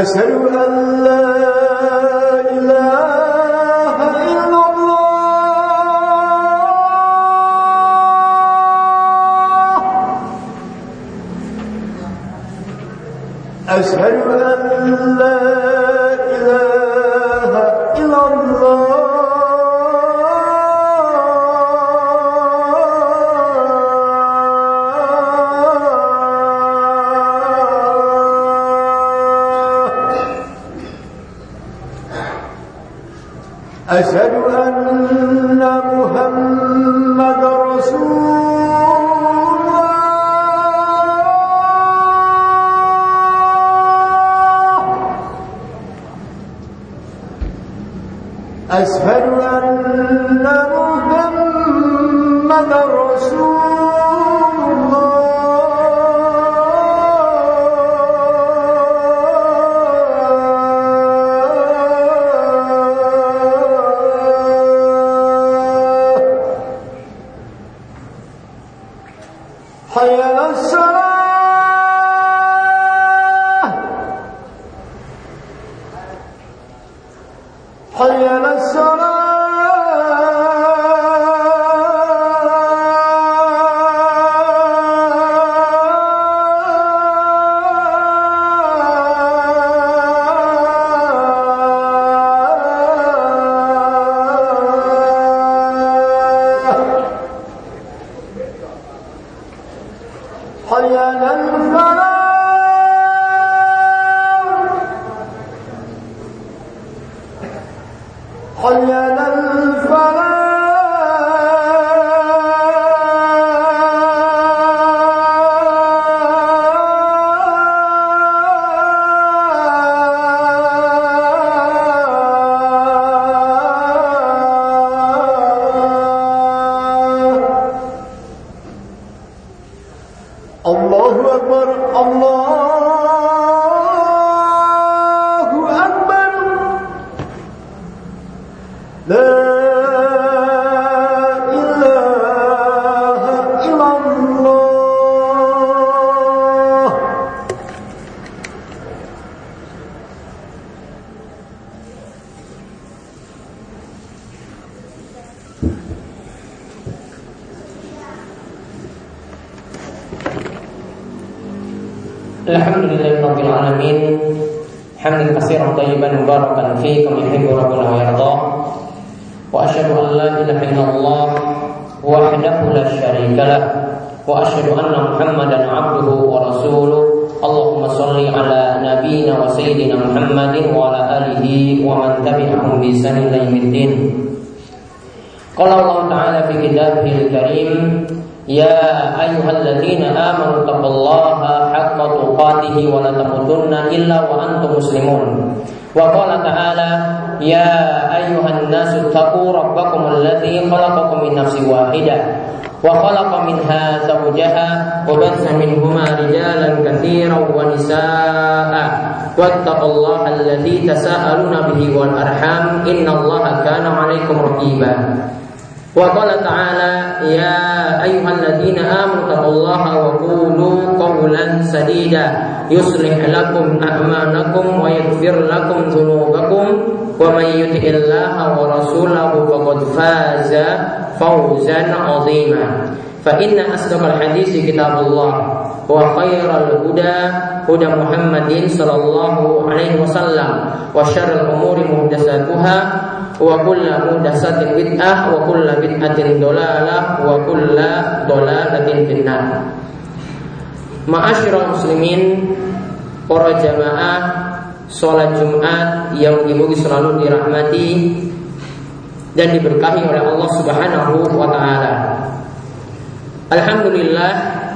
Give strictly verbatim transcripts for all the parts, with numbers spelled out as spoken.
أشهد أن لا إله إلا الله أشهد أن لا إله إلا الله أشهد أن محمد رسول الله أشهد أن محمد رسول حي على الصلاة حي على الصلاة حي على الفلاح حي على الفلاح الله أكبر الله أكبر لا إله إلا الله Alhamdulillahirabbil alamin hamdan katsiran thayyiban mubarakan fihi kama yuhibbu rabbuna wa yarda wa asyhadu an la ilaha illallah wahdahu la syarika lah wa asyhadu anna Muhammadan abduhu wa rasuluh. Allahumma shalli ala nabiyyina wa sayyidina Muhammadin wa ala alihi wa man tabi'ahum bi ihsanin ila yaumiddin. Qala Allah ta'ala fi kitabihil karim ya ayyuhalladzina amanu taqullaha haqqa tuqatih wa la tamutunna illa wa antum muslimun. Wa qala ta'ala ya ayyuhan nasu taqu rabbakum alladzi khalaqakum min nafsin wahidah wa khalaqa minha zawjaha wa batha minhuma rijalan katsiran wa nisaa'a wattaqullaha alladzi tasaaluna bihi wal arham innallaha kana 'alaikum raqiba. Wa qala ta'ala ya ayyuhalladzina amanu taqullaha wa qulu qawlan sadida yuslih lakum a'malakum wa yaghfir lakum dhunubakum wa may yuti'illaha wa rasulahu faqad faza fawzan 'azima. Fa inna asdaqal haditsi kitabullah wa khairal huda huda Muhammadin sallallahu alaihi wasallam wa syarrul umuri muhdatsatuha wa kullu muhdatsatin bid'ah wa kullu bid'atin dhalalah wa kullu dhalalatin finnar. Ma'asyiral muslimin, para jamaah salat Jumat yang dimugi selalu dirahmati dan diberkahi oleh Allah Subhanahu wa taala. Alhamdulillah,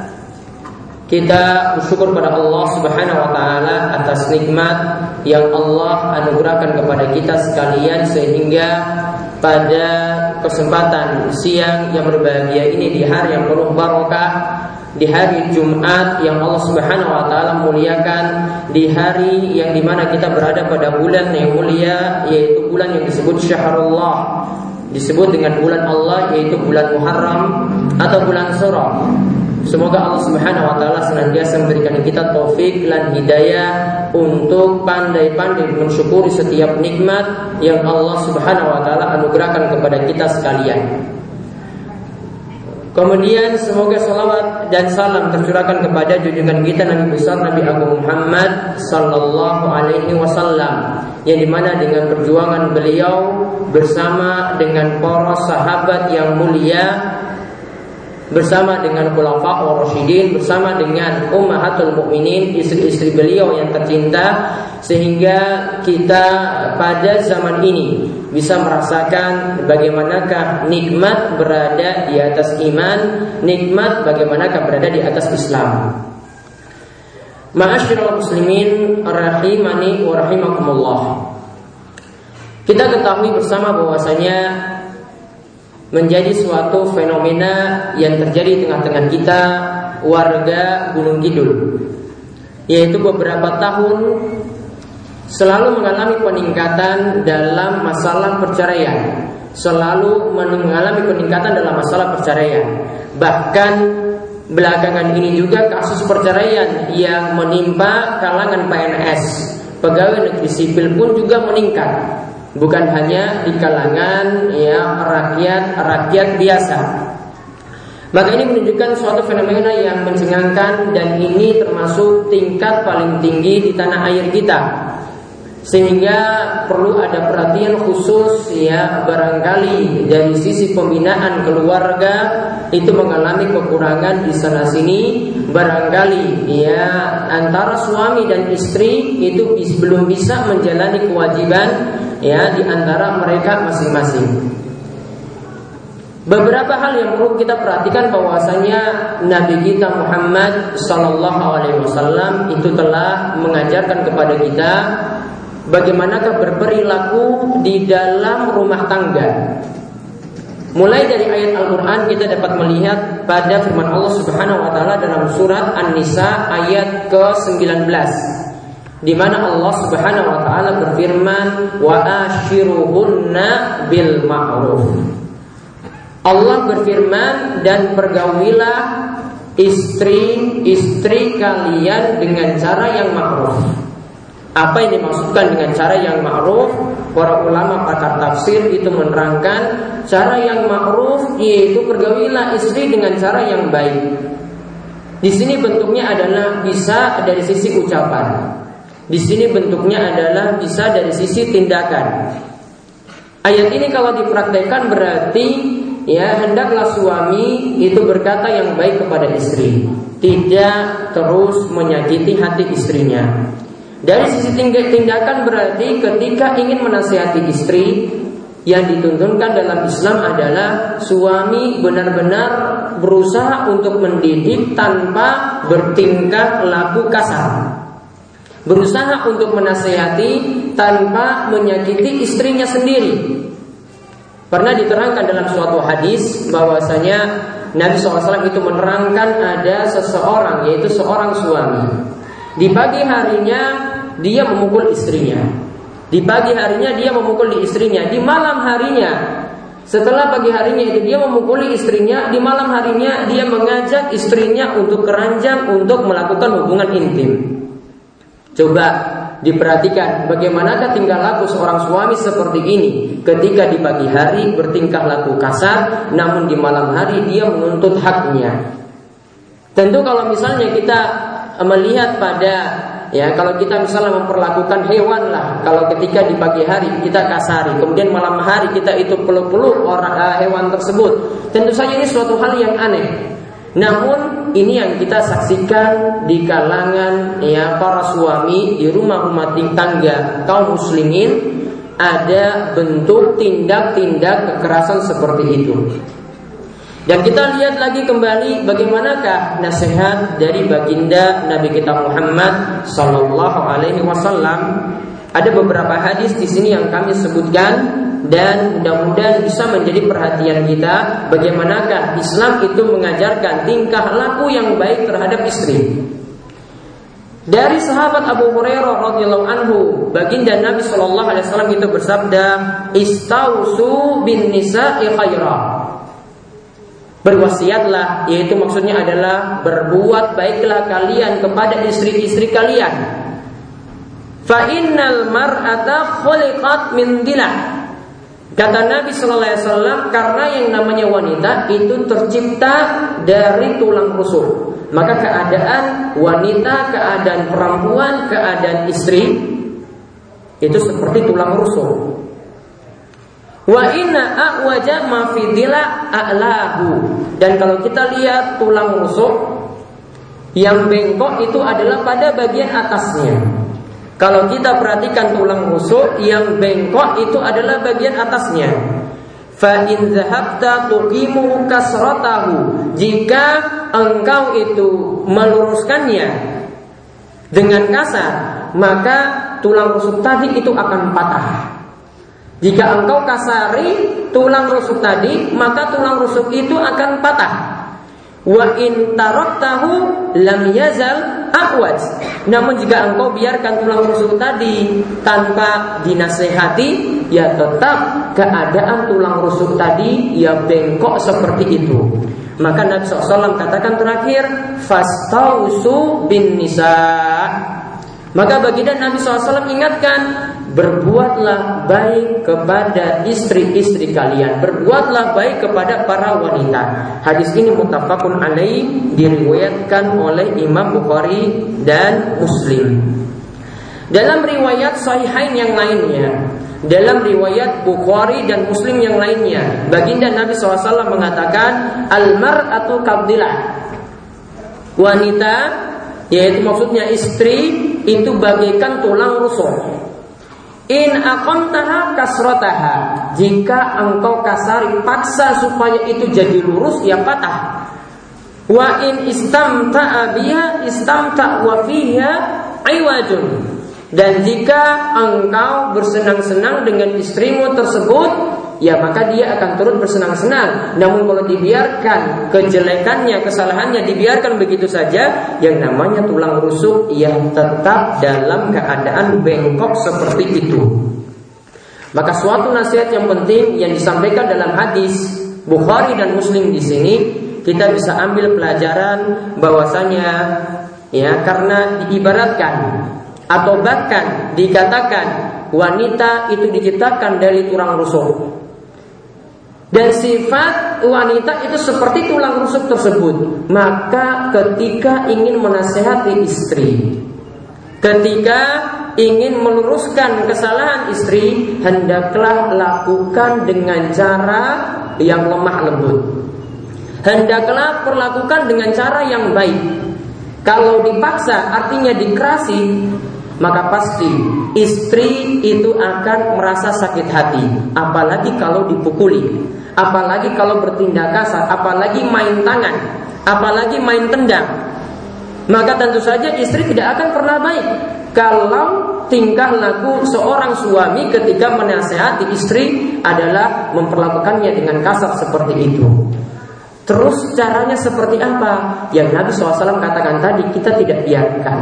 kita bersyukur pada Allah Subhanahu wa taala atas nikmat yang Allah anugerahkan kepada kita sekalian, sehingga pada kesempatan siang yang berbahagia ini, di hari yang penuh barokah, di hari Jumat yang Allah Subhanahu wa taala muliakan, di hari yang dimana kita berada pada bulan yang mulia, yaitu bulan yang disebut Syahrullah, disebut dengan bulan Allah, yaitu bulan Muharram atau bulan Surah. Semoga Allah Subhanahu wa taala senantiasa memberikan kita taufik dan hidayah untuk pandai-pandai mensyukuri setiap nikmat yang Allah Subhanahu wa taala anugerahkan kepada kita sekalian. Kemudian semoga salawat dan salam tercurahkan kepada junjungan kita Nabi besar Nabi Agung Muhammad sallallahu alaihi wasallam, yang dimana dengan perjuangan beliau bersama dengan para sahabat yang mulia, bersama dengan khulafaur rasyidin, bersama dengan ummahatul mukminin, istri-istri beliau yang tercinta, sehingga kita pada zaman ini bisa merasakan bagaimanakah nikmat berada di atas iman, nikmat bagaimanakah berada di atas Islam. Ma'asyiral muslimin rahimani wa rahimakumullah. Kita ketahui bersama bahwasanya menjadi suatu fenomena yang terjadi di tengah-tengah kita warga Gunung Kidul, yaitu beberapa tahun selalu mengalami peningkatan dalam masalah perceraian, selalu mengalami peningkatan dalam masalah perceraian. Bahkan belakangan ini juga kasus perceraian yang menimpa kalangan P N S, pegawai negeri sipil pun juga meningkat. Bukan hanya di kalangan ya rakyat rakyat biasa. Maka ini menunjukkan suatu fenomena yang mencengangkan, dan ini termasuk tingkat paling tinggi di tanah air kita, sehingga perlu ada perhatian khusus ya, barangkali dari sisi pembinaan keluarga itu mengalami kekurangan di sana sini, barangkali ya antara suami dan istri itu belum bisa menjalani kewajiban ya di antara mereka masing-masing. Beberapa hal yang perlu kita perhatikan bahwasanya Nabi kita Muhammad sallallahu alaihi wasallam itu telah mengajarkan kepada kita bagaimanakah berperilaku di dalam rumah tangga. Mulai dari ayat Al-Quran kita dapat melihat pada firman Allah Subhanahu wa taala dalam surat An-Nisa ayat ke sembilan belas, di mana Allah Subhanahu wa taala berfirman, wa ashiruhunna bil ma'ruf. Allah berfirman, dan pergaulilah istri-istri kalian dengan cara yang ma'ruf. Apa yang dimaksudkan dengan cara yang ma'ruf? Para ulama pakar tafsir itu menerangkan cara yang ma'ruf yaitu pergaulilah istri dengan cara yang baik. Di sini bentuknya adalah bisa dari sisi ucapan. Di sini bentuknya adalah bisa dari sisi tindakan. Ayat ini kalau dipraktekkan berarti ya hendaklah suami itu berkata yang baik kepada istri, tidak terus menyakiti hati istrinya. Dari sisi tindakan berarti ketika ingin menasihati istri, yang dituntunkan dalam Islam adalah suami benar-benar berusaha untuk mendidik tanpa bertingkah laku kasar, berusaha untuk menasihati tanpa menyakiti istrinya sendiri. Pernah diterangkan dalam suatu hadis bahwasanya Nabi shallallahu alaihi wasallam itu menerangkan ada seseorang, yaitu seorang suami. Di pagi harinya dia memukul istrinya, di pagi harinya dia memukul di istrinya, di malam harinya setelah pagi harinya itu dia memukuli istrinya, di malam harinya dia mengajak istrinya untuk keranjang untuk melakukan hubungan intim. Coba diperhatikan bagaimanakah tingkah laku seorang suami seperti ini ketika di pagi hari bertingkah laku kasar, namun di malam hari dia menuntut haknya. Tentu kalau misalnya kita melihat pada ya kalau kita misalnya memperlakukan hewan lah, kalau ketika di pagi hari kita kasari, kemudian malam hari kita itu peluk-peluk orang uh, hewan tersebut, tentu saja ini suatu hal yang aneh. Namun ini yang kita saksikan di kalangan ya para suami di rumah-rumah tangga kaum muslimin, ada bentuk tindak-tindak kekerasan seperti itu. Dan kita lihat lagi kembali bagaimanakah nasihat dari baginda Nabi kita Muhammad sallallahu alaihi wasallam. Ada beberapa hadis di sini yang kami sebutkan, dan mudah-mudahan bisa menjadi perhatian kita bagaimanakah Islam itu mengajarkan tingkah laku yang baik terhadap istri. Dari sahabat Abu Hurairah radhiyallahu anhu, baginda Nabi sallallahu alaihi wasallam itu bersabda, "Istausu bin nisa'i khaira." Berwasiatlah, yaitu maksudnya adalah berbuat baiklah kalian kepada istri-istri kalian. Fa innal mar'ata khuliqat min dilah. Kata Nabi sallallahu alaihi wasallam, karena yang namanya wanita itu tercipta dari tulang rusuk. Maka keadaan wanita, keadaan perempuan, keadaan istri itu seperti tulang rusuk. Wa inna a'waja ma fi dila a'lahu. Dan kalau kita lihat tulang rusuk yang bengkok itu adalah pada bagian atasnya. Kalau kita perhatikan tulang rusuk yang bengkok itu adalah bagian atasnya. Fa in zahabta tuqimu kasratahu. Jika engkau itu meluruskannya dengan kasar, maka tulang rusuk tadi itu akan patah. Jika engkau kasari tulang rusuk tadi, maka tulang rusuk itu akan patah. Wa in taraktahu lam yazal aqwaj. Namun jika engkau biarkan tulang rusuk tadi tanpa dinasehati, ya tetap keadaan tulang rusuk tadi ya bengkok seperti itu. Maka Nabi shallallahu alaihi wasallam katakan terakhir, fastausu bin nisa. Maka baginda Nabi shallallahu alaihi wasallam ingatkan, berbuatlah baik kepada istri-istri kalian, berbuatlah baik kepada para wanita. Hadis ini muttafaqun alaih, diriwayatkan oleh Imam Bukhari dan Muslim. Dalam riwayat sahihain yang lainnya, dalam riwayat Bukhari dan Muslim yang lainnya, baginda Nabi shallallahu alaihi wasallam mengatakan, al-mar'atu kabdilah. Wanita, yaitu maksudnya istri, itu bagaikan tulang rusuk. In aqamtaha kasrataha. Jika engkau kasari, paksa supaya itu jadi lurus, ya patah. Wa in istamta'a biha istamta' wa fiha iwajun. Dan jika engkau bersenang-senang dengan istrimu tersebut, ya maka dia akan turut bersenang-senang. Namun kalau dibiarkan kejelekannya, kesalahannya dibiarkan begitu saja, yang namanya tulang rusuk yang tetap dalam keadaan bengkok seperti itu. Maka suatu nasihat yang penting yang disampaikan dalam hadis Bukhari dan Muslim di sini, kita bisa ambil pelajaran bahwasanya ya karena diibaratkan atau bahkan dikatakan wanita itu diciptakan dari tulang rusuk. Dan sifat wanita itu seperti tulang rusuk tersebut. Maka ketika ingin menasehati istri, ketika ingin meluruskan kesalahan istri, hendaklah lakukan dengan cara yang lemah lembut. Hendaklah perlakukan dengan cara yang baik. Kalau dipaksa artinya dikerasi, maka pasti istri itu akan merasa sakit hati. Apalagi kalau dipukuli, apalagi kalau bertindak kasar, apalagi main tangan, apalagi main tendang. Maka tentu saja istri tidak akan pernah baik kalau tingkah laku seorang suami ketika menasehati istri adalah memperlakukannya dengan kasar seperti itu. Terus caranya seperti apa? Yang Nabi shallallahu alaihi wasallam katakan tadi, kita tidak biarkan.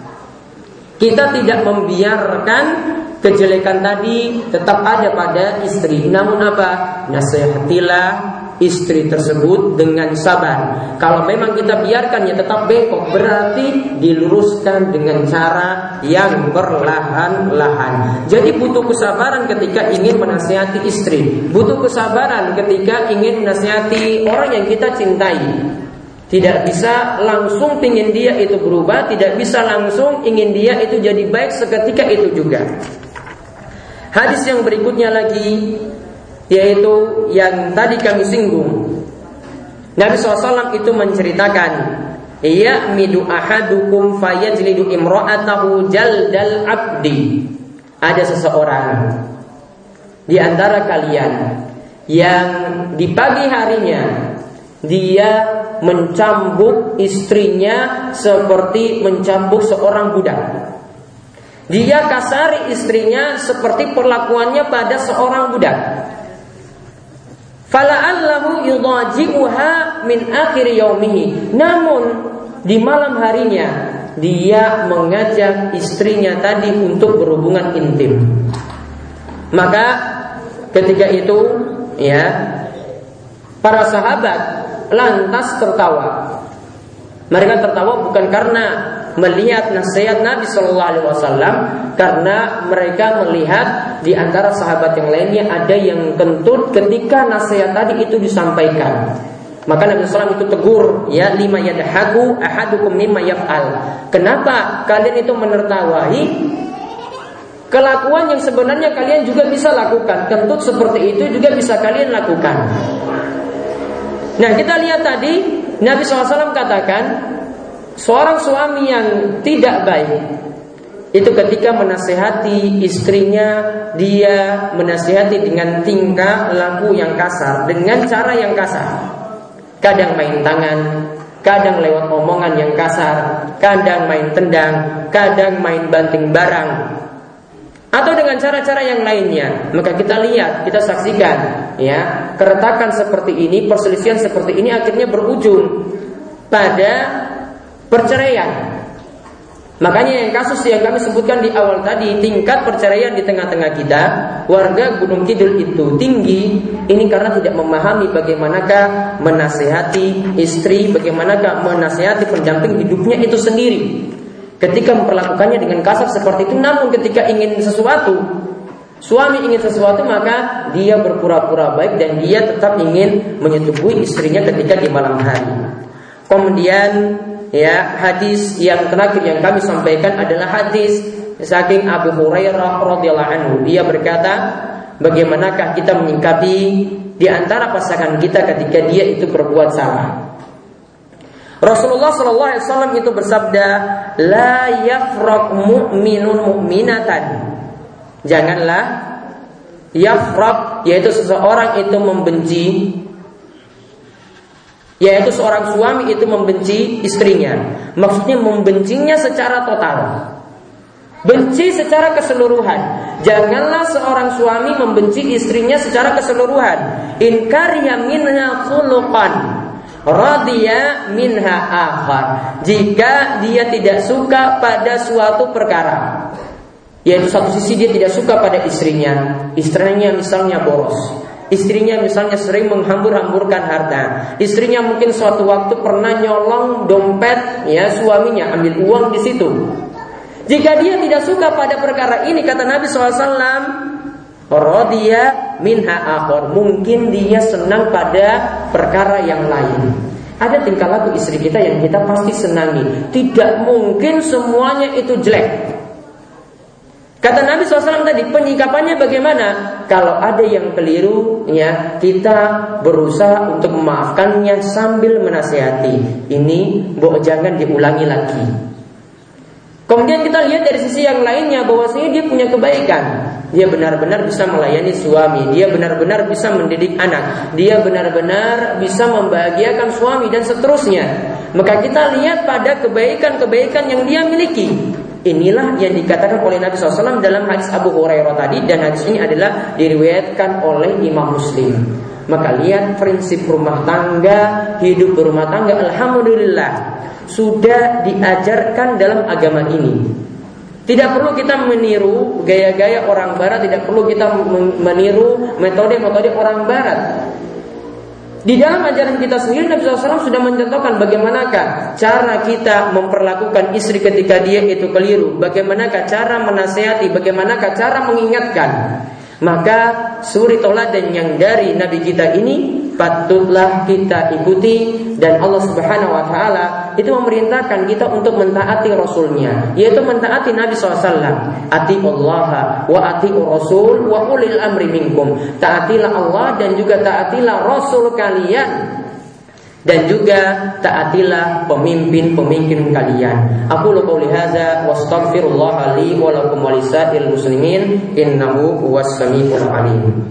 Kita tidak membiarkan kejelekan tadi tetap ada pada istri. Namun apa? Nasihatilah istri tersebut dengan sabar. Kalau memang kita biarkannya tetap bengkok, berarti diluruskan dengan cara yang perlahan-lahan. Jadi butuh kesabaran ketika ingin menasihati istri, butuh kesabaran ketika ingin menasihati orang yang kita cintai. Tidak bisa langsung ingin dia itu berubah, tidak bisa langsung ingin dia itu jadi baik seketika itu juga. Hadis yang berikutnya lagi, yaitu yang tadi kami singgung. Nabi shallallahu alaihi wasallam itu menceritakan, ya'midu ahadukum fayajlidu imra'atahu jaldal abdi. Ada seseorang di antara kalian yang di pagi harinya dia mencambuk istrinya seperti mencambuk seorang budak. Dia kasari istrinya seperti perlakuannya pada seorang budak. Fala'allahu yudaji'uha min akhir yaumihi. Namun di malam harinya dia mengajak istrinya tadi untuk berhubungan intim. Maka ketika itu ya para sahabat lantas tertawa. Mereka tertawa bukan karena melihat nasihat Nabi Shallallahu Alaihi Wasallam, karena mereka melihat di antara sahabat yang lainnya ada yang kentut ketika nasihat tadi itu disampaikan. Maka Nabi Shallallahu Alaihi Wasallam itu tegur, ya lima yadhaku ahadukum mimma yaf'al. Kenapa kalian itu menertawai kelakuan yang sebenarnya kalian juga bisa lakukan? Kentut seperti itu juga bisa kalian lakukan. Nah, kita lihat tadi Nabi shallallahu alaihi wasallam katakan seorang suami yang tidak baik itu ketika menasihati istrinya, dia menasihati dengan tingkah laku yang kasar, dengan cara yang kasar. Kadang main tangan, kadang lewat omongan yang kasar, kadang main tendang, kadang main banting barang, atau dengan cara-cara yang lainnya. Maka kita lihat, kita saksikan, ya, keretakan seperti ini, perselisihan seperti ini akhirnya berujung pada perceraian. Makanya yang kasus yang kami sebutkan di awal tadi, tingkat perceraian di tengah-tengah kita, warga Gunung Kidul itu tinggi. Ini karena tidak memahami bagaimanakah menasihati istri, bagaimanakah menasihati pendamping hidupnya itu sendiri. Ketika memperlakukannya dengan kasar seperti itu, namun ketika ingin sesuatu, suami ingin sesuatu, maka dia berpura-pura baik dan dia tetap ingin menyetubuhi istrinya ketika di malam hari. Kemudian, ya, hadis yang terakhir yang kami sampaikan adalah hadis saking Abu Hurairah radhiyallahu anhu. Dia berkata, bagaimanakah kita menyikapi di antara pasangan kita ketika dia itu berbuat salah? Rasulullah shallallahu alaihi wasallam itu bersabda, la yafraq mu'minun mu'minatan. Janganlah yafraq, yaitu seseorang itu membenci, yaitu seorang suami itu membenci istrinya. Maksudnya membencinya secara total, benci secara keseluruhan. Janganlah seorang suami membenci istrinya secara keseluruhan. In kariya minha khuluqan radiya minha akhar. Jika dia tidak suka pada suatu perkara, yaitu satu sisi dia tidak suka pada istrinya, istrinya misalnya boros, istrinya misalnya sering menghambur-hamburkan harta, istrinya mungkin suatu waktu pernah nyolong dompet ya suaminya, ambil uang di situ. Jika dia tidak suka pada perkara ini, kata Nabi shallallahu alaihi wasallam, radiya minha akhar, mungkin dia senang pada perkara yang lain. Ada tingkah laku istri kita yang kita pasti senangi. Tidak mungkin semuanya itu jelek. Kata Nabi shallallahu alaihi wasallam tadi, penyikapannya bagaimana? Kalau ada yang keliru, ya kita berusaha untuk memaafkannya sambil menasihati. Ini bo jangan diulangi lagi. Kemudian kita lihat dari sisi yang lainnya, bahwasanya dia punya kebaikan. Dia benar-benar bisa melayani suami, dia benar-benar bisa mendidik anak, dia benar-benar bisa membahagiakan suami dan seterusnya. Maka kita lihat pada kebaikan-kebaikan yang dia miliki. Inilah yang dikatakan oleh Nabi shallallahu alaihi wasallam dalam hadis Abu Hurairah tadi, dan hadis ini adalah diriwayatkan oleh Imam Muslim. Maka lihat prinsip rumah tangga, hidup berumah tangga, alhamdulillah sudah diajarkan dalam agama ini. Tidak perlu kita meniru gaya-gaya orang barat, tidak perlu kita meniru metode-metode orang barat. Di dalam ajaran kita sendiri, Nabi shallallahu alaihi wasallam sudah mencontohkan bagaimanakah cara kita memperlakukan istri ketika dia itu keliru, bagaimanakah cara menasihati, bagaimanakah cara mengingatkan. Maka suri toladan yang dari Nabi kita ini patutlah kita ikuti, dan Allah Subhanahu wa taala itu memerintahkan kita untuk mentaati Rasulnya, yaitu mentaati Nabi shallallahu alaihi wasallam. Atiullaha wa atiur Rasul wa ulil amri minkum. Taatilah Allah dan juga taatilah Rasul kalian, dan juga taatilah pemimpin-pemimpin kalian. Aku qouli hadza wastaghfirullah li wa lakum wa lisairil muslimin innahu huwas samiul alim.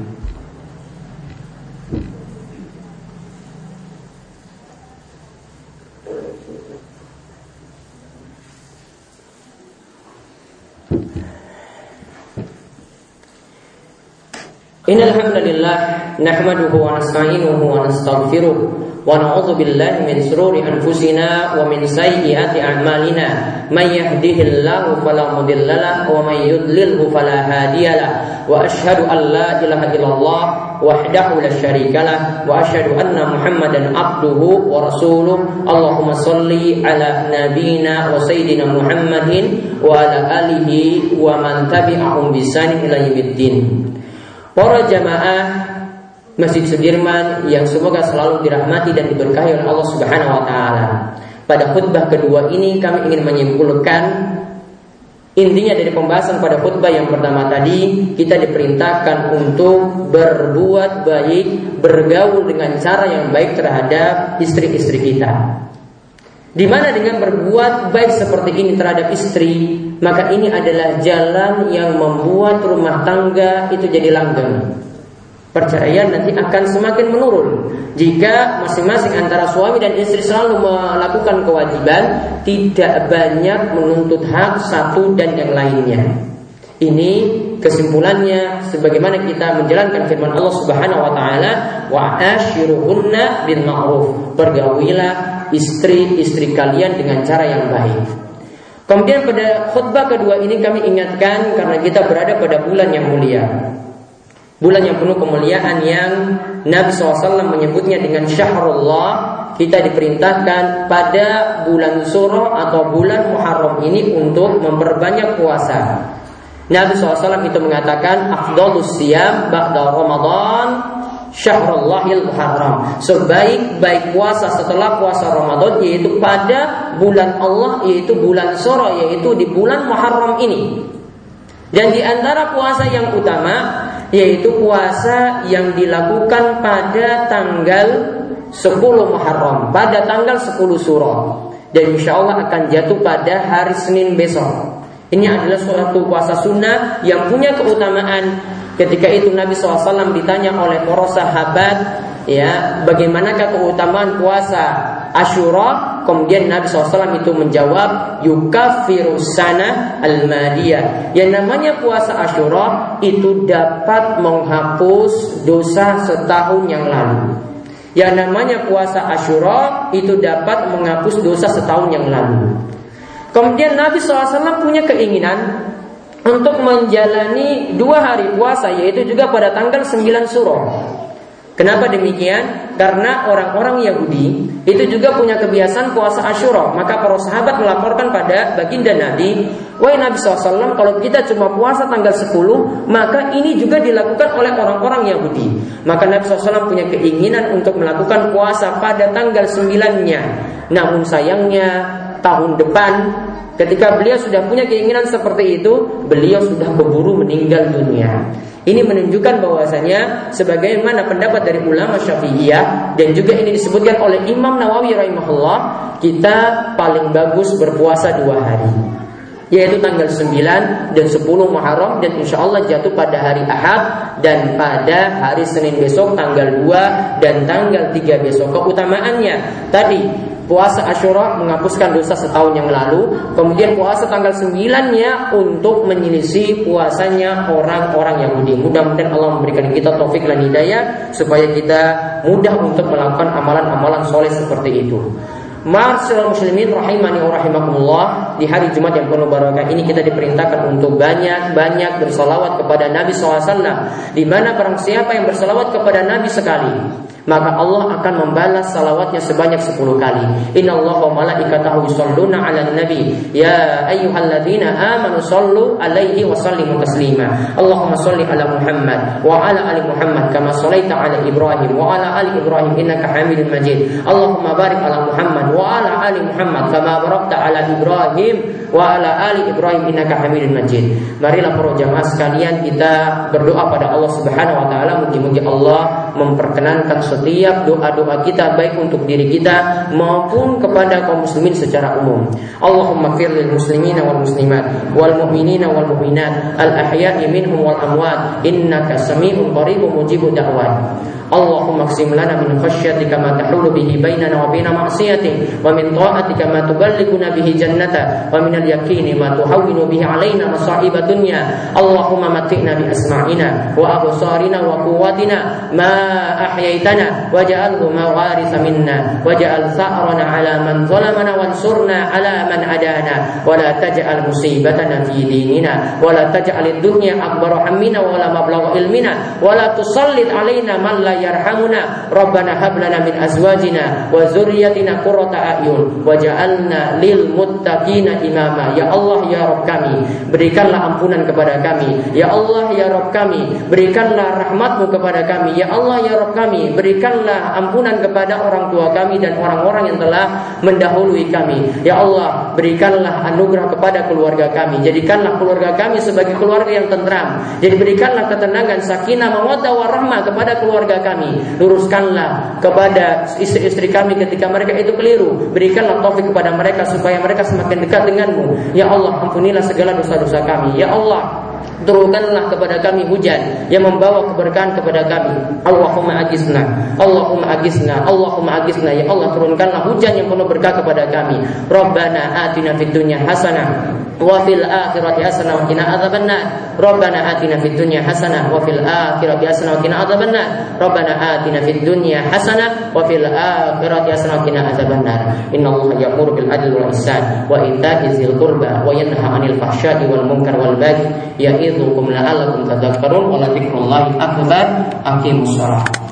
Innal hamdalillah nahmaduhu wa nasta'inuhu wa nastaghfiruh wa na'udzu billahi min shururi anfusina wa min sayyiati a'malina may yahdihillahu fala mudilla lahu wa may yudlilhu fala hadiyalah wa asyhadu an la ilaha illallah wahdahu la syarikalah wa asyhadu anna Muhammadan abduhu wa rasuluh. Allahumma shalli ala nabiyyina wa sayyidina Muhammadin wa ala alihi wa man tabi'ahum bi ihsan ila yaumiddin. Para jamaah Masjid Sudirman yang semoga selalu dirahmati dan diberkahi oleh Allah Subhanahu wa taala. Pada khutbah kedua ini kami ingin menyimpulkan intinya dari pembahasan pada khutbah yang pertama tadi. Kita diperintahkan untuk berbuat baik, bergaul dengan cara yang baik terhadap istri-istri kita. Di mana dengan berbuat baik seperti ini terhadap istri, maka ini adalah jalan yang membuat rumah tangga itu jadi langgeng. Perceraian nanti akan semakin menurun jika masing-masing antara suami dan istri selalu melakukan kewajiban, tidak banyak menuntut hak satu dan yang lainnya. Ini kesimpulannya sebagaimana kita menjalankan firman Allah Subhanahu wa taala, wa ashiruhunna bil ma'ruf. Pergaulilah istri-istri kalian dengan cara yang baik. Kemudian pada khutbah kedua ini kami ingatkan karena kita berada pada bulan yang mulia, bulan yang penuh kemuliaan yang Nabi shallallahu alaihi wasallam menyebutnya dengan syahrullah. Kita diperintahkan pada bulan Suro atau bulan Muharram ini untuk memperbanyak puasa. Nabi shallallahu alaihi wasallam itu mengatakan afdhalus siyam ba'da Ramadan syahrullahil muharram. Sebaik-baik puasa setelah puasa Ramadan yaitu pada bulan Allah, yaitu bulan Suro, yaitu di bulan Muharram ini. Dan di antara puasa yang utama yaitu puasa yang dilakukan pada tanggal sepuluh Muharram, pada tanggal sepuluh Suro, dan insya Allah akan jatuh pada hari Senin besok. Ini adalah suatu puasa sunnah yang punya keutamaan. Ketika itu Nabi shallallahu alaihi wasallam ditanya oleh para sahabat, ya, bagaimanakah keutamaan puasa Asyura? Kemudian Nabi shallallahu alaihi wasallam itu menjawab, yukafirus sana al-madiyah. Yang namanya puasa Asyura itu dapat menghapus dosa setahun yang lalu. Yang namanya puasa Asyura itu dapat menghapus dosa setahun yang lalu. Kemudian Nabi shallallahu alaihi wasallam punya keinginan untuk menjalani dua hari puasa, yaitu juga pada tanggal sembilan Suro. Kenapa demikian? Karena orang-orang Yahudi itu juga punya kebiasaan puasa Asyura. Maka para sahabat melaporkan pada baginda Nabi, wahai Nabi shallallahu alaihi wasallam, kalau kita cuma puasa tanggal sepuluh, maka ini juga dilakukan oleh orang-orang Yahudi. Maka Nabi shallallahu alaihi wasallam punya keinginan untuk melakukan puasa pada tanggal sembilan-nya. Namun sayangnya tahun depan, ketika beliau sudah punya keinginan seperti itu, beliau sudah keburu meninggal dunia. Ini menunjukkan bahwasanya sebagaimana pendapat dari ulama Syafi'iyah, dan juga ini disebutkan oleh Imam Nawawi rahimahullah, kita paling bagus berpuasa dua hari, yaitu tanggal sembilan dan sepuluh Muharram, dan insya Allah jatuh pada hari Ahad, dan pada hari Senin besok tanggal dua dan tanggal tiga besok. Keutamaannya tadi, puasa Asyura menghapuskan dosa setahun yang lalu. Kemudian puasa tanggal sembilan-nya untuk menyelisih puasanya orang-orang Yahudi. Mudah-mudahan Allah memberikan kita taufik dan hidayah supaya kita mudah untuk melakukan amalan-amalan soleh seperti itu. Ma'asyiral muslimin rahimani wa rahimakumullah, di hari Jumat yang penuh barakah ini kita diperintahkan untuk banyak-banyak bersalawat kepada Nabi shallallahu alaihi wasallam. Di mana barang siapa yang bersalawat kepada Nabi sekali, maka Allah akan membalas salawatnya sebanyak sepuluh kali. Innallaha wa malaikatahu yusholluna 'alan nabi ya ayyuhalladzina amanu shallu 'alaihi wa sallimu taslima. Allahumma shalli 'ala Muhammad wa 'ala ali Muhammad kama shallaita 'ala Ibrahim wa 'ala ali Ibrahim innaka Hamidum Majid. Allahumma barik 'ala Muhammad wa 'ala ali Muhammad kama barakta 'ala Ibrahim wa 'ala ali Ibrahim innaka Hamidum Majid. Marilah para jamaah sekalian, kita berdoa pada Allah Subhanahu wa taala, mugi-mugi Allah memperkenankan setiap doa-doa kita, baik untuk diri kita maupun kepada kaum muslimin secara umum. Allahumma fir lil muslimina wal muslimat wal mu'minina wal mu'minat al ahya'i minhum wal amwat innaka sami'un qaribun mujibud da'wat. Allahumma qsim lana min khasyatika ma tahulu bihi bainana wa baina ma'siyatik, wa min ta'atika ma tuballighuna bihi jannata, wa min al-yaqini ma tuhawwinu bihi alaina masa'ib dunya. Allahumma matti'na bi asma'ina wa absarina wa quwwatina ma أحييتنا واجعله ما وارث منا واجعل ثأرنا على من ظلمنا وانصرنا على من عادانا ولا تجعل مصيبتنا في ديننا ولا تجعل الدنيا أكبر همنا ولا مبلغ علمنا ولا تسلط علينا من لا يرحمنا ربنا هب لنا من أزواجنا وذريتنا قرة أعين وجعلنا للمتقين إماما. Ya Allah, ya Rabb kami, berikanlah ampunan kepada kami. Ya Allah, ya Rabb kami, berikanlah rahmat-Mu kepada kami. Ya Allah, ya Rabb kami, berikanlah ampunan kepada orang tua kami dan orang-orang yang telah mendahului kami. Ya Allah, berikanlah anugerah kepada keluarga kami. Jadikanlah keluarga kami sebagai keluarga yang tentram. Jadi berikanlah ketenangan, sakinah, mawaddah warahmah kepada keluarga kami. Luruskanlah kepada istri-istri kami ketika mereka itu keliru. Berikanlah taufik kepada mereka supaya mereka semakin dekat denganmu. Ya Allah, ampunilah segala dosa-dosa kami. Ya Allah, turunkanlah kepada kami hujan yang membawa keberkahan kepada kami. Allahumma agisna, Allahumma agisna, Allahumma agisna. Ya Allah, turunkanlah hujan yang penuh berkah kepada kami. Rabbana atina fid dunya hasanah wa fil akhirati hasanah wa qina adzabannar. Rabbana atina fid dunya hasanah wa fil akhirati hasanah wa qina adzabannar. Rabbana atina fid dunya hasanah wa fil akhirati hasanah wa qina adzabannar. Innallaha ya'muru bil adli wal ihsan wa ita'i dzil qurba wa yanha 'anil fahsya'i wal munkar wal baghi ya'idzukum la'allakum tadhakkarun wa la dzikrullahi akbar. Aqimus shalah.